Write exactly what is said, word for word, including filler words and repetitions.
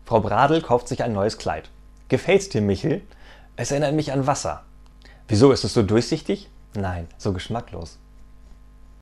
Frau Bradl kauft sich ein neues Kleid. Gefällt's dir, Michel? Es erinnert mich an Wasser. Wieso, ist es so durchsichtig? Nein, so geschmacklos.